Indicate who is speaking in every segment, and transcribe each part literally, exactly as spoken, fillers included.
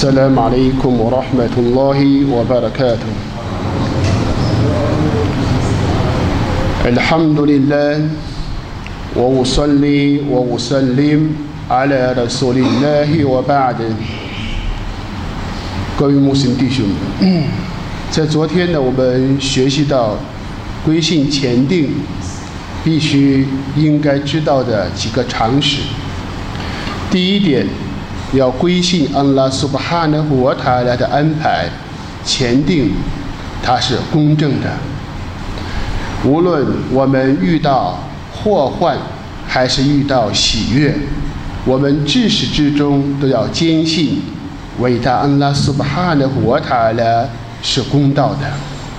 Speaker 1: السلام عليكم ورحمة الله وبركاته. الحمد لله وأصلي وأسلم على رسول الله وبعد。各位穆斯林弟兄们，在昨天呢，我们学习到归信前定必须应该知道的几个常识。第一点，要归信安拉苏巴哈纳胡瓦塔拉的安排，前定它是公正的。无论我们遇到祸患还是遇到喜悦，我们至始至终都要坚信伟大安拉苏巴哈纳胡瓦塔拉是公道的。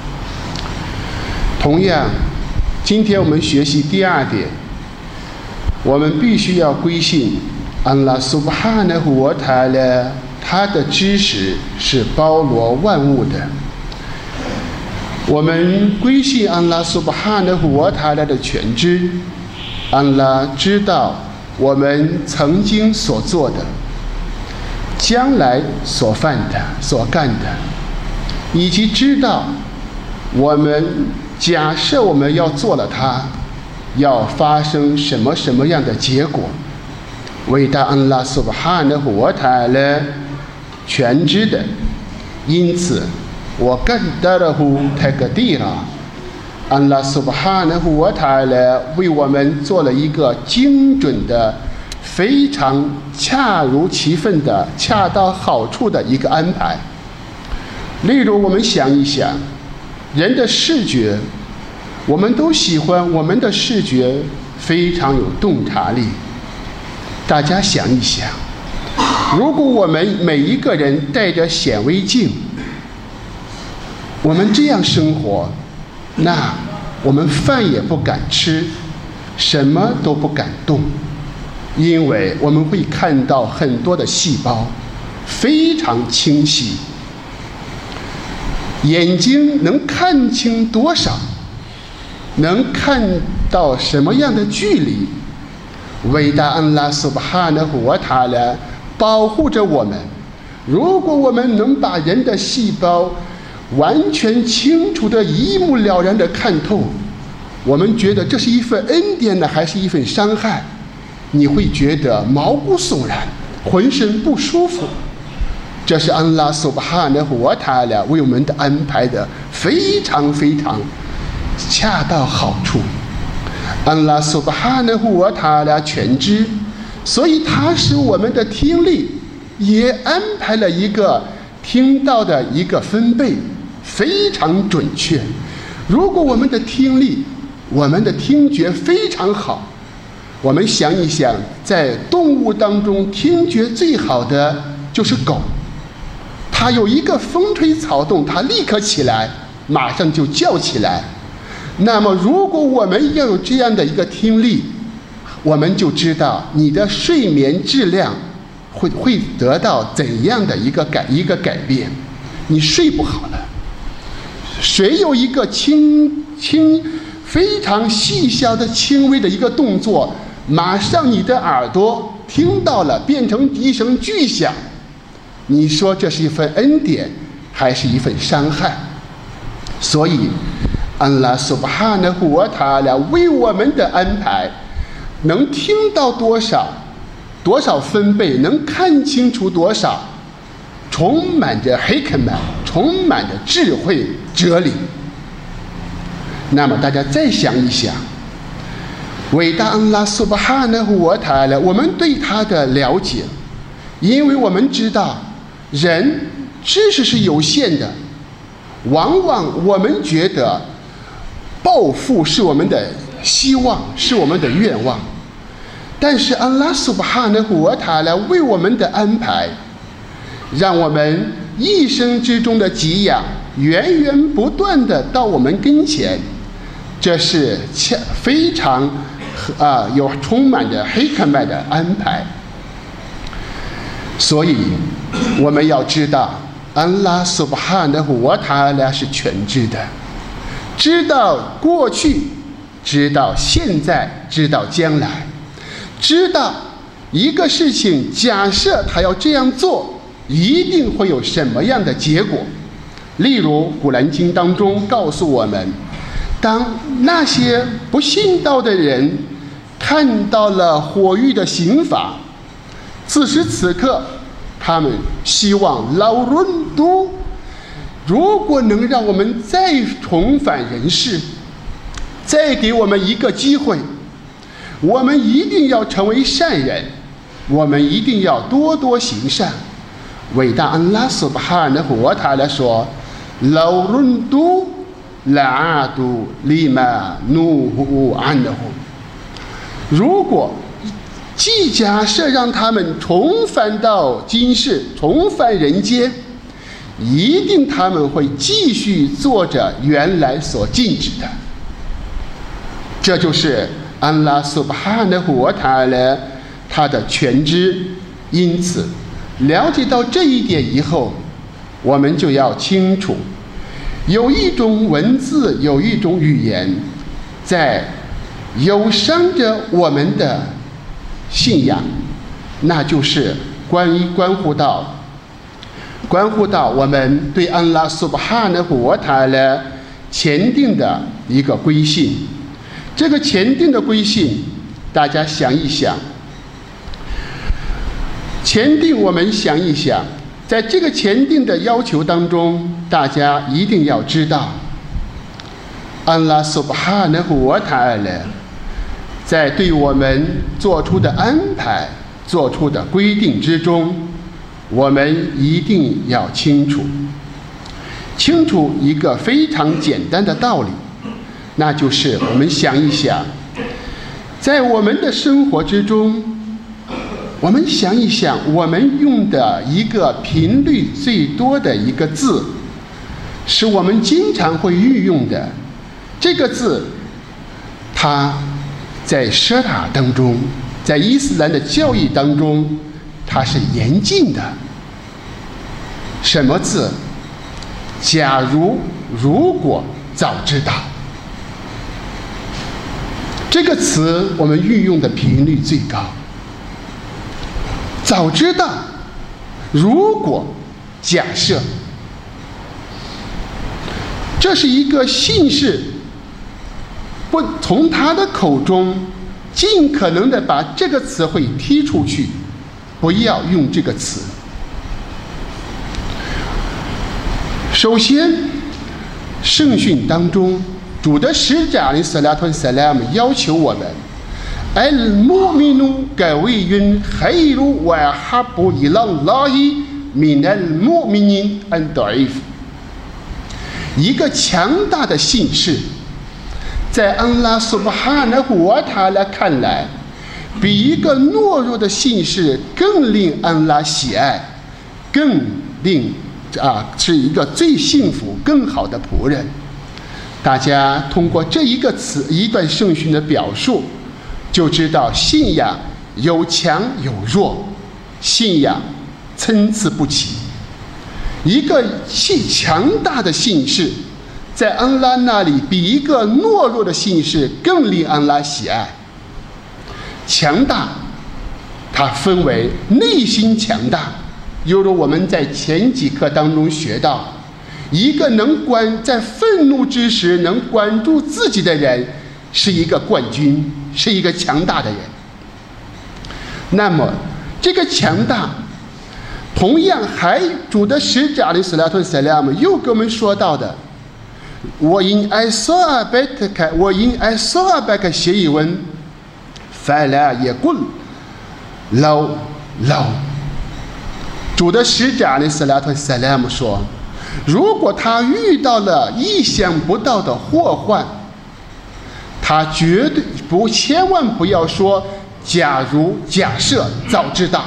Speaker 1: 同样，今天我们学习第二点，我们必须要归信安拉苏巴哈纳胡瓦塔拉，他的知识是包罗万物的。我们归信安拉苏巴哈纳胡瓦塔拉的全知，安拉知道我们曾经所做的，将来所犯的、所干的，以及知道我们假设我们要做了它，要发生什么什么样的结果。伟大安拉苏巴哈纳胡瓦塔拉全知的，因此我更得了胡泰格蒂拉，安拉苏巴哈纳胡瓦塔拉为我们做了一个精准的、非常恰如其分的、恰到好处的一个安排。例如，我们想一想，人的视觉，我们都喜欢我们的视觉非常有洞察力。大家想一想，如果我们每一个人戴着显微镜，我们这样生活，那我们饭也不敢吃，什么都不敢动，因为我们会看到很多的细胞非常清晰。眼睛能看清多少，能看到什么样的距离，伟大安拉苏巴哈纳胡瓦塔拉保护着我们。如果我们能把人的细胞完全清楚的一目了然的看透，我们觉得这是一份恩典呢，还是一份伤害？你会觉得毛骨悚然，浑身不舒服。这是安拉苏巴哈纳胡瓦塔拉为我们的安排的非常非常恰到好处。安拉苏巴哈纳胡瓦塔拉全知，所以他使我们的听力也安排了一个听到的一个分贝，非常准确。如果我们的听力、我们的听觉非常好，我们想一想，在动物当中听觉最好的就是狗，它有一个风吹草动，它立刻起来，马上就叫起来。那么如果我们要有这样的一个听力，我们就知道你的睡眠质量会会得到怎样的一个改一个改变。你睡不好了，谁有一个轻轻非常细小的轻微的一个动作，马上你的耳朵听到了，变成一声巨响，你说这是一份恩典还是一份伤害？所以安拉苏巴哈纳胡瓦塔拉为我们的安排，能听到多少多少分贝，能看清楚多少，充满着黑克曼，充满着智慧哲理。那么大家再想一想，伟大安拉苏巴哈纳胡瓦塔拉，我们对他的了解，因为我们知道人知识是有限的，往往我们觉得暴富是我们的希望，是我们的愿望。但是安拉苏巴哈纳胡瓦塔拉为我们的安排，让我们一生之中的给养源源不断的到我们跟前，这是非常啊有充满着黑克麦的安排。所以我们要知道，安拉苏巴哈纳胡瓦塔拉是全知的，知道过去，知道现在，知道将来，知道一个事情假设他要这样做， 一定会有什么样的结果。例如古兰经当中告诉我们，当那些不信道的人看到了火狱的刑罚，此时此刻他们希望老伦都，如果能让我们再重返人世，再给我们一个机会，我们一定要成为善人，我们一定要多多行善。伟大安拉苏巴哈纳胡瓦塔拉说，老伦都拉阿都利玛努胡安的胡。如果既假设让他们重返到今世，重返人间，一定他们会继续做着原来所禁止的。这就是安拉苏巴哈纳胡瓦塔拉他的全知。因此了解到这一点以后，我们就要清楚，有一种文字，有一种语言在有伤着我们的信仰，那就是关于关乎到关乎到我们对安拉苏巴哈纳胡瓦塔拉前定的一个归信。这个前定的归信，大家想一想，前定我们想一想，在这个前定的要求当中，大家一定要知道，安拉苏巴哈纳胡瓦塔拉在对我们做出的安排、做出的规定之中，我们一定要清楚，清楚一个非常简单的道理，那就是我们想一想，在我们的生活之中，我们想一想，我们用的一个频率最多的一个字，是我们经常会运用的这个字，它在舍塔当中，在伊斯兰的教义当中，它是严禁的。什么字？假如、如果、早知道。这个词我们运用的频率最高。早知道，如果，假设，这是一个信士不从他的口中尽可能的把这个词汇踢出去，不要用这个词。首先，圣训当中，主的使者阿里斯拉吞萨拉姆要求我们 ，al-mu'minu qawiyyun khairu wa habbu ila Allahi min al-mu'minin ad-da'if。一个强大的信士，在安拉苏巴哈纳胡瓦塔拉看来，比一个懦弱的信士更令安拉喜爱，更令啊是一个最幸福、更好的仆人。大家通过这一个词、一段圣训的表述，就知道信仰有强有弱，信仰参差不齐。一个信强大的信士，在安拉那里比一个懦弱的信士更令安拉喜爱。强大，它分为内心强大，犹如我们在前几课当中学到，一个能管在愤怒之时能管住自己的人，是一个冠军，是一个强大的人。那么，这个强大，同样还主的使者阿里斯拉吞萨拉姆又给我们说到的，我因爱索阿贝特开，我因爱索阿贝克写一文，法拉也滚，老老。主的使者阿里斯拉吞萨拉姆说，如果他遇到了意想不到的祸患，他绝对不，千万不要说假如、假设、早知道。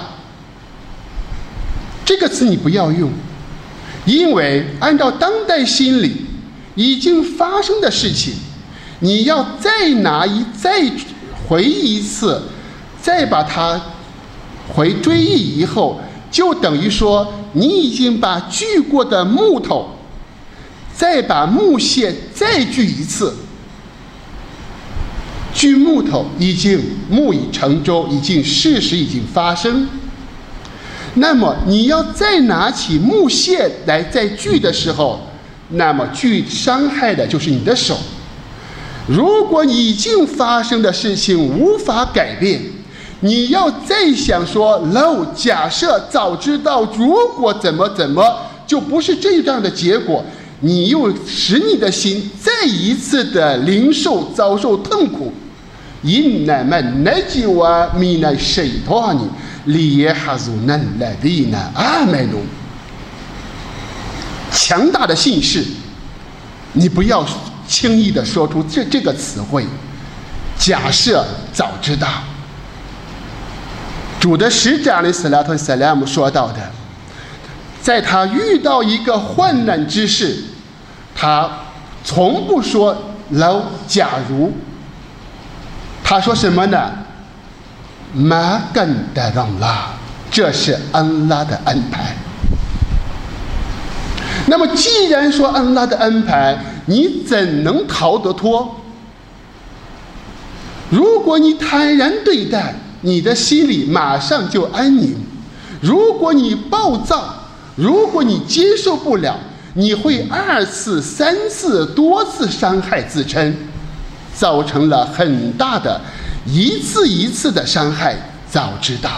Speaker 1: 这个词你不要用，因为按照当代心理已经发生的事情，你要再拿一再回忆一次，再把它回追忆以后，就等于说你已经把锯过的木头，再把木屑再锯一次。锯木头已经木已成舟，已经事实已经发生。 那么你要再拿起木屑来再锯的时候，那么锯伤害的就是你的手。如果已经发生的事情无法改变，你要再想说喽，假设早知道如果怎么怎么就不是这样的结果，你又使你的心再一次的领受遭受痛苦。إنما النجوى من الشيطان ليحزن الذين آمنوا。强大的信誓，你不要轻易的说出这这个词汇。假设早知道，主的使者阿里斯拉特萨拉姆说到的，在他遇到一个患难之事，他从不说喽假如。他说什么呢？马干达让拉，这是安拉的安排。那么既然说安拉的安排，你怎能逃得脱？如果你坦然对待，你的心里马上就安宁；如果你暴躁，如果你接受不了，你会二次、三次、多次伤害自身，造成了很大的一次一次的伤害。早知道，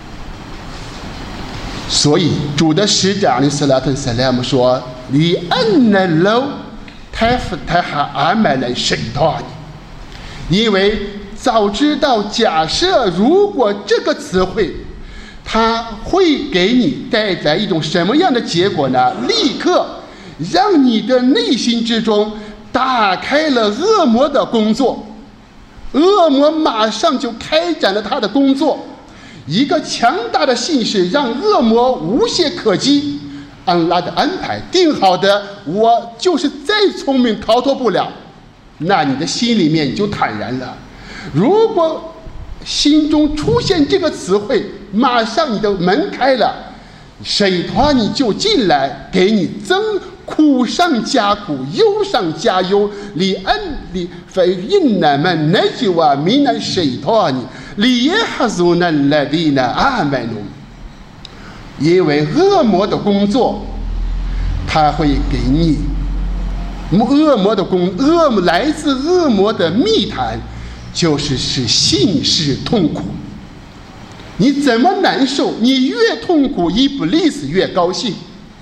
Speaker 1: 所以主的使者阿里斯拉特萨拉姆说：“li anna law taftaha amal shaytan。”因为早知道，假设如果这个词汇，它会给你带来一种什么样的结果呢？立刻让你的内心之中打开了恶魔的工作，恶魔马上就开展了他的工作。一个强大的信誓让恶魔无懈可击。安拉的安排定好的，我就是再聪明逃脱不了，那你的心里面你就坦然了。如果心中出现这个词汇，马上你的门开了，水团你就进来，给你增苦上加苦，忧上加忧。li an li fa innama najwa min ash-shaytan liyahzuna alladhina amanu。因为恶魔的工作，他会给你恶魔的工恶来自恶魔的密谈，就是使信誓痛苦。你怎么难受，你越痛苦，伊布利斯越高兴。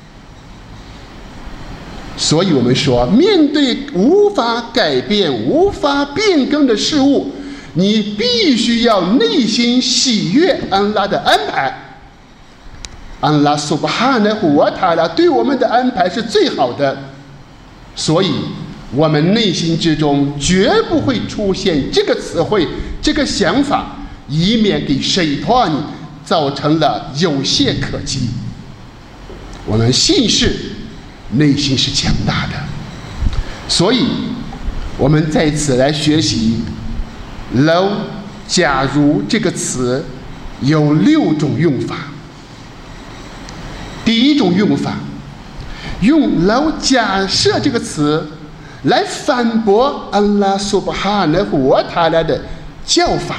Speaker 1: 所以我们说，面对无法改变、无法变更的事物，你必须要内心喜悦安拉的安排。安拉苏巴哈纳胡瓦塔拉对我们的安排是最好的，所以我们内心之中绝不会出现这个词汇、这个想法，以免给水团造成了有懈可击。我们信誓内心是强大的，所以我们在此来学习 "lo" 假如这个词有六种用法。第一种用法，用 "lo" 假设这个词来反驳安拉苏巴哈纳胡瓦塔拉的教法。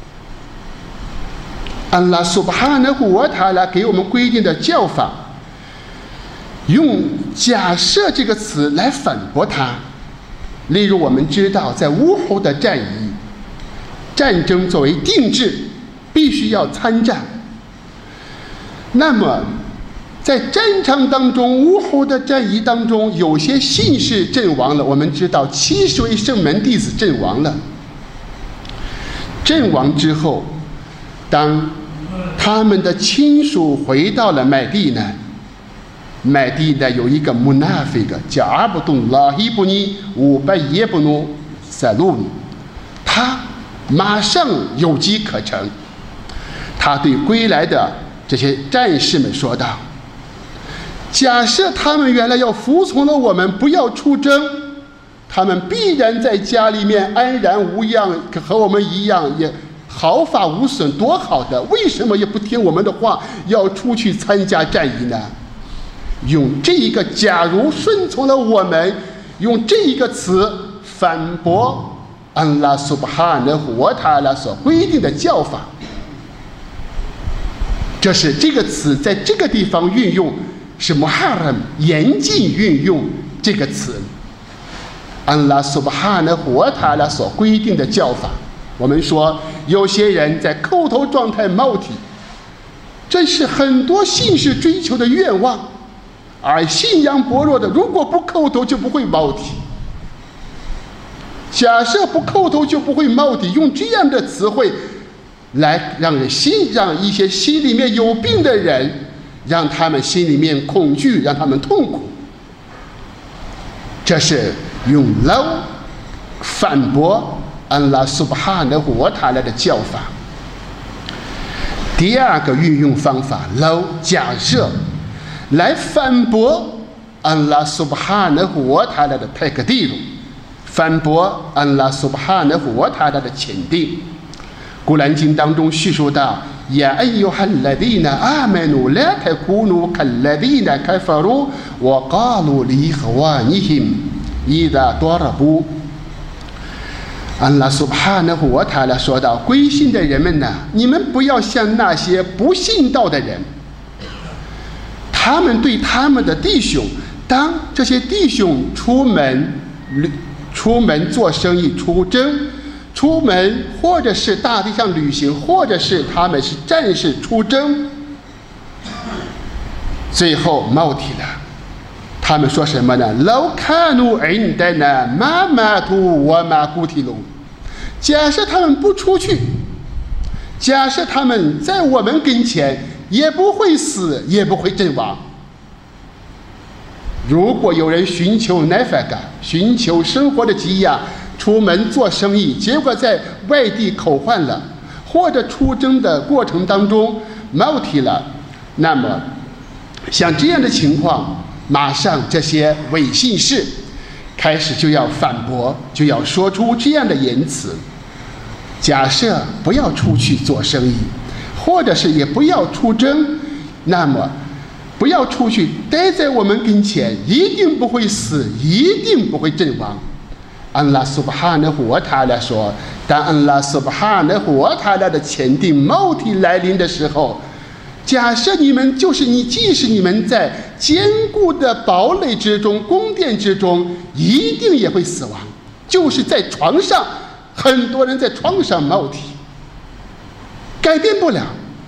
Speaker 1: 安拉苏巴哈纳胡瓦塔拉给我们规定的教法，用假设这个词来反驳它。例如我们知道，在乌侯的战役，战争作为定制，必须要参战。那么在战场当中，乌侯的战役当中，有些信士阵亡了。我们知道七十位圣门弟子阵亡了。阵亡之后，当他们的亲属回到了麦地呢，麦地呢有一个穆纳菲格叫阿卜杜拉希布尼乌拜耶布努塞鲁尼，他马上有机可乘。他对归来的这些战士们说道：假设他们原来要服从了我们，不要出征，他们必然在家里面安然无恙，和我们一样也毫发无损，多好的！为什么也不听我们的话，要出去参加战役呢？用这一个假如顺从了我们，用这一个词反驳安拉苏巴哈纳胡瓦塔拉所规定的教法， 这是这个词在这个地方运用是 muharram 严禁运用这个词，安拉苏巴哈纳胡瓦塔拉所规定的叫法。我们说有些人在叩头状态冒体，这是很多信士追求的愿望，而信仰薄弱的如果不叩头就不会冒体。假设不叩头就不会冒体，用这样的词汇来让人心让一些心里面有病的人，让他们心里面恐惧，让他们痛苦。这是用 law 反驳安拉苏巴哈纳胡瓦塔拉的叫法。第二个运用方法 law 假设来反驳安拉苏巴哈纳胡瓦塔拉的泰克蒂鲁，反驳安拉苏巴哈纳胡瓦塔拉的前定。古兰经当中叙述到：“呀哎呦哈勒迪那阿门努拉泰库努卡勒迪那开法鲁，我告鲁里和瓦尼him伊达多拉布。”安拉苏巴哈纳胡瓦塔拉说道：“归信的人们呐，你们不要像那些不信道的人，他们对他们的弟兄，当这些弟兄出门出门做生意、出征。”出门，或者是大地上旅行，或者是他们是战士出征，最后冒体了。他们说什么呢？老卡努恩德呢，妈妈图我妈古提鲁。假设他们不出去，假设他们在我们跟前，也不会死，也不会阵亡。如果有人寻求奈法嘎，寻求生活的给养，出门做生意，结果在外地口患了，或者出征的过程当中冒体了，那么像这样的情况，马上这些伪信士开始就要反驳，就要说出这样的言辞。假设不要出去做生意，或者是也不要出征，那么不要出去，待在我们跟前，一定不会死，一定不会阵亡。安拉苏巴哈纳胡瓦塔拉说，当安拉苏巴哈纳胡瓦塔拉的前定冒体来临的时候，假设你们就是你，即使你们在坚固的堡垒之中、宫殿之中，一定也会死亡。就是在床上，很多人在床上冒体，改变不了，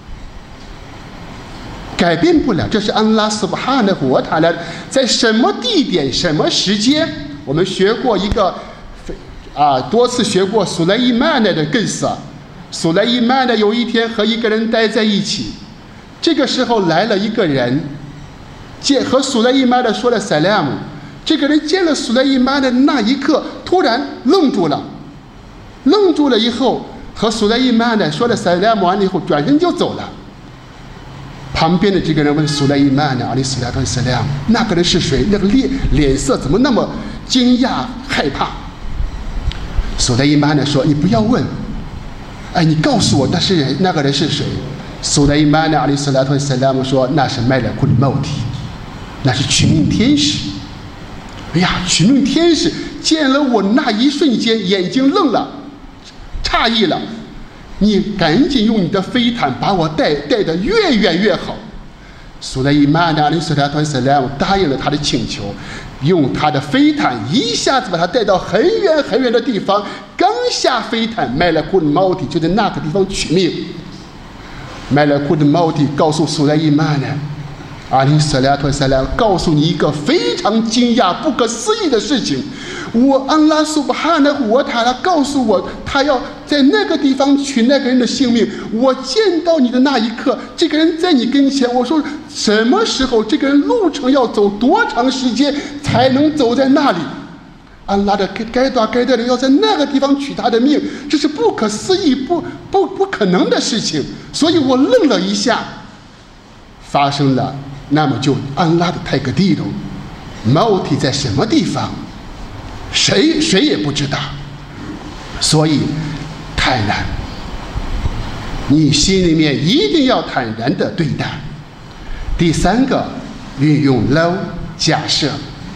Speaker 1: 改变不了。这是安拉苏巴哈纳胡瓦塔拉在什么地点、什么时间？我们学过一个。啊，多次学过苏莱伊曼的更色。苏莱伊曼呢，有一天和一个人待在一起，这个时候来了一个人，见和苏莱伊曼的说了萨拉姆。这个人见了苏莱伊曼的那一刻，突然愣住了，愣住了以后，和苏莱伊曼的说了萨拉姆完了以后，转身就走了。旁边的这个人问苏莱伊曼呢，阿里斯拉特萨拉姆，那个人是谁？那个脸脸色怎么那么惊讶害怕？苏莱伊曼呢说：“你不要问，哎，你告诉我那是人，那个人是谁？”苏莱伊曼呢，阿里斯拉特萨拉姆说：“那是麦勒库里茂提，那是取命天使。”哎呀，取命天使见了我那一瞬间，眼睛愣了，诧异了。你赶紧用你的飞毯把我带带得越远越好。苏莱伊曼呢，阿里斯拉特萨拉姆答应了他的请求。用他的飞毯一下子把他带到很远很远的地方，刚下飞毯，麦勒库的猫体就在那个地方取命。麦勒库的猫体告诉苏莱伊曼呢，阿里斯拉特萨拉告诉你一个非常惊讶、不可思议的事情。我安拉苏巴哈纳胡瓦塔拉告诉我，他要在那个地方取那个人的性命。我见到你的那一刻，这个人在你跟前。我说什么时候？这个人路程要走多长时间才能走在那里？安拉的该多该的人要在那个地方取他的命，这是不可思议、不不不可能的事情。所以我愣了一下，发生了，那么就安拉的泰格地龙，毛体在什么地方？谁谁也不知道，所以坦然，你心里面一定要坦然的对待。第三个，运用 law 假设，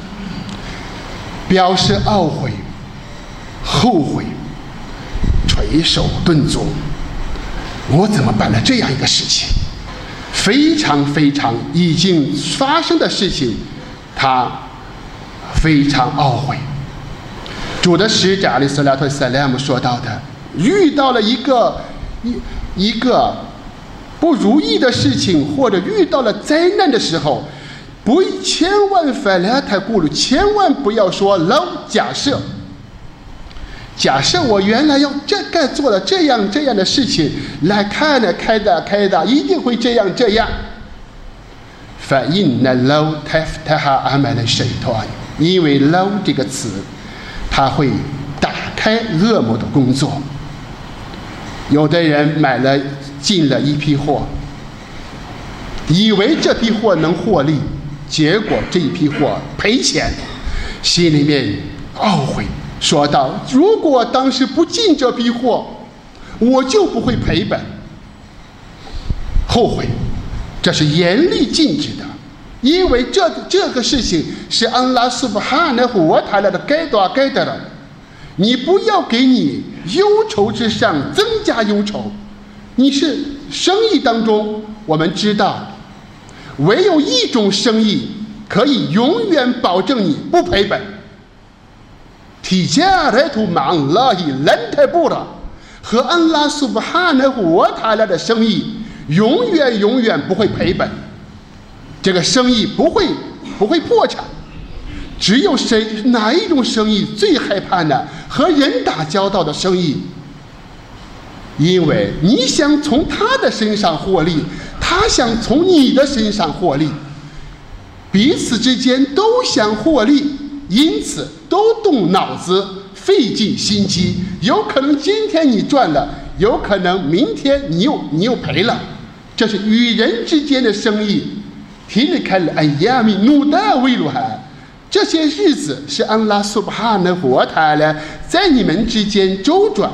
Speaker 1: 表示懊悔、后悔、垂手顿足。我怎么办了这样一个事情？ 非常非常已经发生的事情，他非常懊悔。主的使者阿里斯拉特萨拉姆说到的，遇到了一个一一个不如意的事情，或者遇到了灾难的时候，不千万反来太顾虑，千万不要说老假设。假设我原来要这该做了这样这样的事情，来看了开的开的，一定会这样这样。فإن لو تفتح عمل الشيطان，因为 لو 这个词，它会打开恶魔的工作。有的人买了进了一批货，以为这批货能获利，结果这一批货赔钱，心里面懊悔。说道：“如果当时不进这批货，我就不会赔本。”后悔，这是严厉禁止的，因为这这个事情是安拉苏布哈纳胡瓦塔拉的该多该得的，你不要给你忧愁之上增加忧愁。你是生意当中，我们知道，唯有一种生意可以永远保证你不赔本。提加来图马拉伊兰泰布拉和安拉苏布哈纳胡瓦塔拉的生意永远永远不会赔本，这个生意不会不会破产。只有谁哪一种生意最害怕呢？和人打交道的生意，因为你想从他的身上获利，他想从你的身上获利，彼此之间都想获利，因此都动脑子，费尽心机。有可能今天你赚了，有可能明天你又你又赔了。这是与人之间的生意。提里开了哎呀米努达维鲁哈，这些日子是安拉苏巴哈纳胡塔拉在你们之间周转。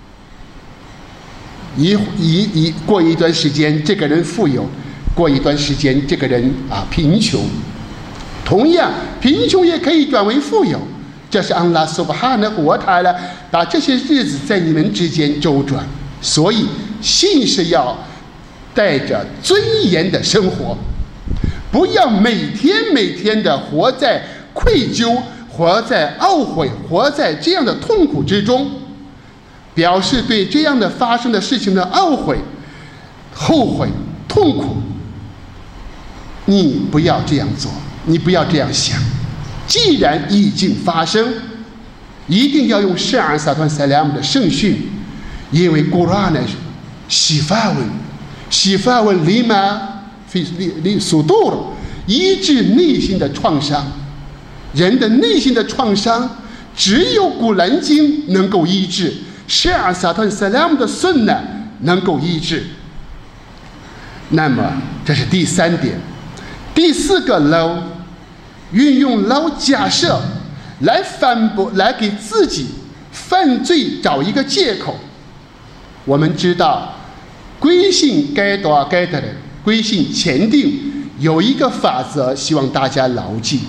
Speaker 1: 一一一过一段时间，这个人富有；过一段时间，这个人啊贫穷。同样，贫穷也可以转为富有。这是安拉苏巴哈纳胡塔拉把这些日子在你们之间周转。所以，信是要带着尊严的生活，不要每天每天的活在愧疚、活在懊悔、活在这样的痛苦之中，表示对这样的发生的事情的懊悔、后悔、痛苦。你不要这样做，你不要这样想。既然已经发生，一定要用圣安萨团塞拉姆的圣训，因为古兰呢，洗发文，洗发文立马非立立速度了，医治内心的创伤。人的内心的创伤，只有古兰经能够医治，圣安萨团塞拉姆的顺呢能够医治。那么这是第三点。第四个捞，运用捞假设来反驳，来给自己犯罪找一个借口。我们知道，归信该多该的人，归信前定有一个法则，希望大家牢记。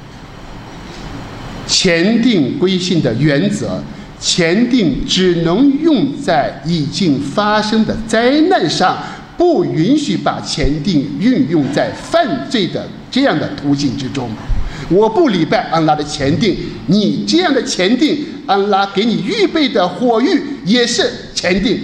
Speaker 1: 前定归信的原则，前定只能用在已经发生的灾难上，不允许把前定运用在犯罪的这样的途径之中。我不礼拜安拉的前定，你这样的前定，安拉给你预备的火狱也是前定，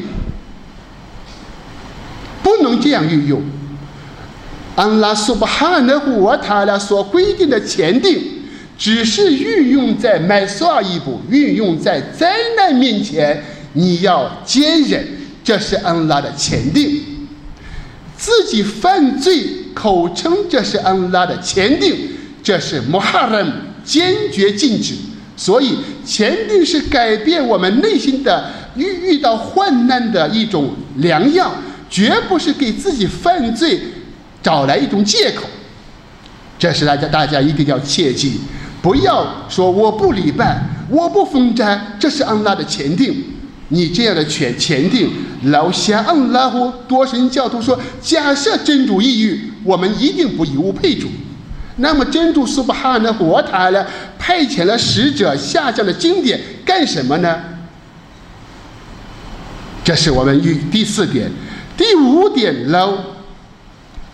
Speaker 1: 不能这样运用。安拉苏巴哈纳胡瓦塔拉所规定的前定，只是运用在买刷一步，运用在灾难面前，你要坚忍，这是安拉的前定。自己犯罪口称这是安拉的前定，这是穆哈ram坚决禁止。所以前定是改变我们内心的遇遇到患难的一种良药，绝不是给自己犯罪找来一种借口。这是大家大家一定要切记，不要说我不礼拜，我不封斋，这是安拉的前定。你这样的前前定，老夏安拉胡多神教徒说，假设真主抑郁，我们一定不以物配主。那么真主苏巴哈纳胡瓦塔拉派遣了使者下降的经典干什么呢？这是我们第四点。第五点，老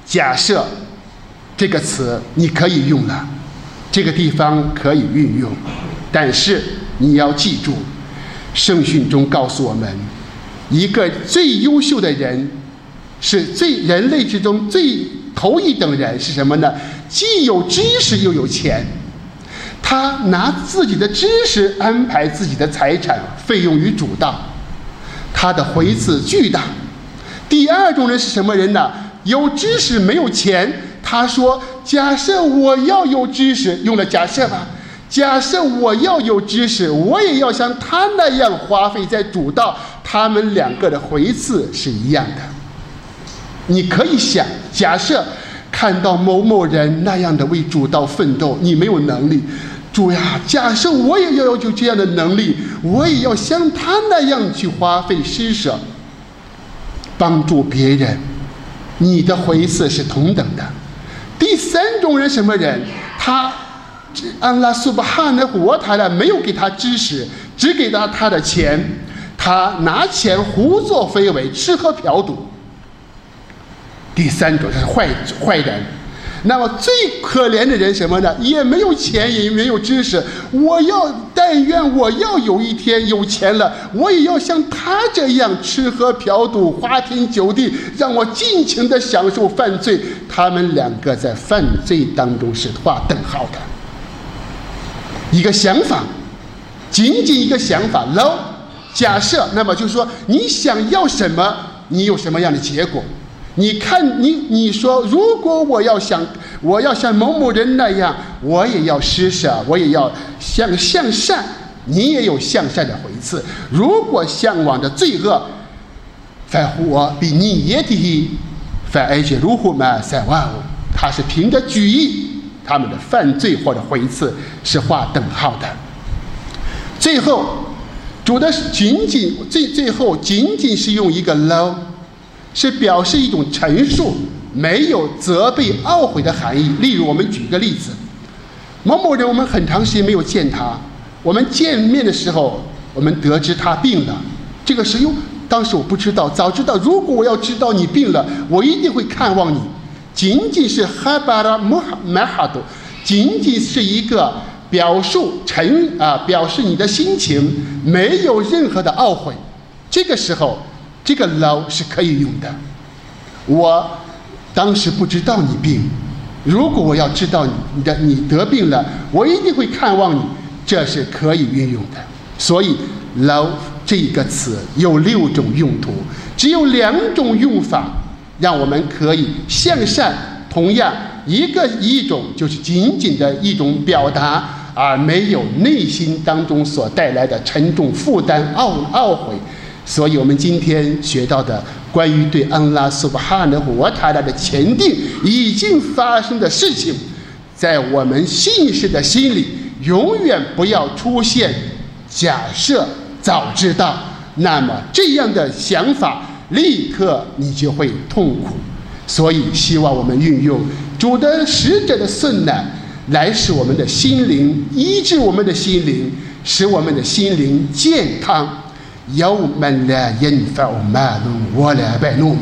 Speaker 1: 假设这个词你可以用了，这个地方可以运用，但是你要记住，圣训中告诉我们，一个最优秀的人，是最人类之中最头一等人是什么呢？既有知识又有钱，他拿自己的知识安排自己的财产费用于主道，他的回赐巨大。第二种人是什么人呢？有知识没有钱，他说假设我要有知识，用了假设吧，假设我要有知识，我也要像他那样花费在主道，他们两个的回赐是一样的。你可以想，假设看到某某人那样的为主道奋斗，你没有能力，主呀，假设我也要有这样的能力，我也要像他那样去花费施舍帮助别人，你的回赐是同等的。第三种人什么人？他安拉苏巴哈纳胡瓦塔拉没有给他知识，只给他他的钱，他拿钱胡作非为，吃喝嫖赌。第三种是坏坏人。那么最可怜的人什么呢？也没有钱，也没有知识。我要但愿我要有一天有钱了，我也要像他这样吃喝嫖赌，花天酒地，让我尽情的享受犯罪。他们两个在犯罪当中是划等号的。一个想法，仅仅一个想法 low 假设，那么就是说你想要什么，你有什么样的结果。你看你你说，如果我要想我要像某某人那样，我也要施舍，我也要向向善，你也有向善的回赐。如果向往着罪恶，反我比你也低，反而且如虎嘛三万五，他是凭着举意，他们的犯罪或者回赐是划等号的。最后主的仅仅最最后仅仅是用一个 low，是表示一种陈述，没有责备懊悔的含义。例如我们举个例子，某某人我们很长时间没有见他，我们见面的时候我们得知他病了，这个时候当时我不知道，早知道如果我要知道你病了，我一定会看望你。仅仅是哈巴拉穆马哈多，仅仅是一个表述陈啊表示你的心情，没有任何的懊悔。这个时候这个 low 是可以用的。我当时不知道你病，如果我要知道你的你得病了，我一定会看望你，这是可以运用的。所以 low 这个词有六种用途，只有两种用法让我们可以向善。同样一个一种就是仅仅的一种表达，而没有内心当中所带来的沉重负担懊懊悔。所以我们今天学到的关于对安拉苏巴哈纳胡瓦塔拉的前定已经发生的事情，在我们信士的心里永远不要出现假设早知道，那么这样的想法立刻你就会痛苦。所以希望我们运用主的使者的顺呢，来使我们的心灵医治我们的心灵，使我们的心灵健康。يوم لا ينفع مال ولا بنون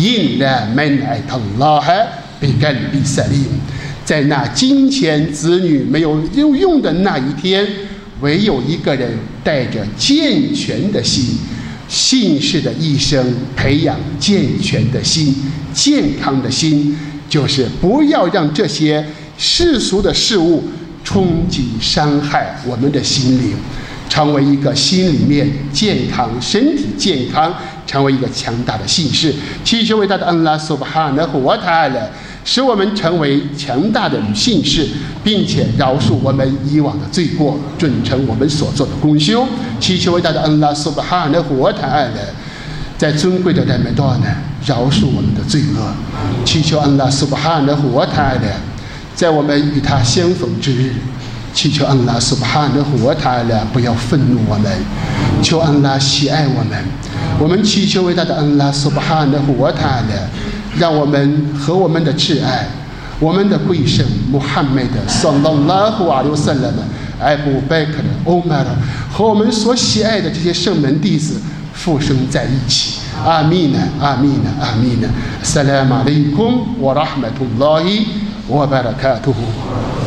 Speaker 1: إلا من أتى الله بقلب سليم。在那金钱子女没有有用的那一天，唯有一个人带着健全的心，信士的一生培养健全的心、健康的心，就是不要让这些世俗的事物冲击伤害我们的心灵，成为一个心里面健康、身体健康，成为一个强大的信士。祈求伟大的安拉苏巴哈纳胡瓦塔拉使我们成为强大的信士，并且饶恕我们以往的罪过，准成我们所做的功修。祈求伟大的安拉苏巴哈纳胡瓦塔拉在尊贵的人们多呢饶恕我们的罪恶。祈求安拉苏巴哈纳胡瓦塔拉在我们与他相逢之日，祈求安拉苏巴哈纳胡瓦塔拉不要愤怒我们，求安拉喜爱我们。我们祈求伟大的安拉苏巴哈纳胡瓦塔拉，让我们和我们的挚爱、我们的贵圣穆罕默德саллаллаху алейхи ва саллям、艾布贝克的欧麦尔和我们所喜爱的这些圣门弟子复生在一起。 阿弥呢，阿弥呢，阿弥呢。Assalamu alaikum wa rahmatullahi wa barakatuhu。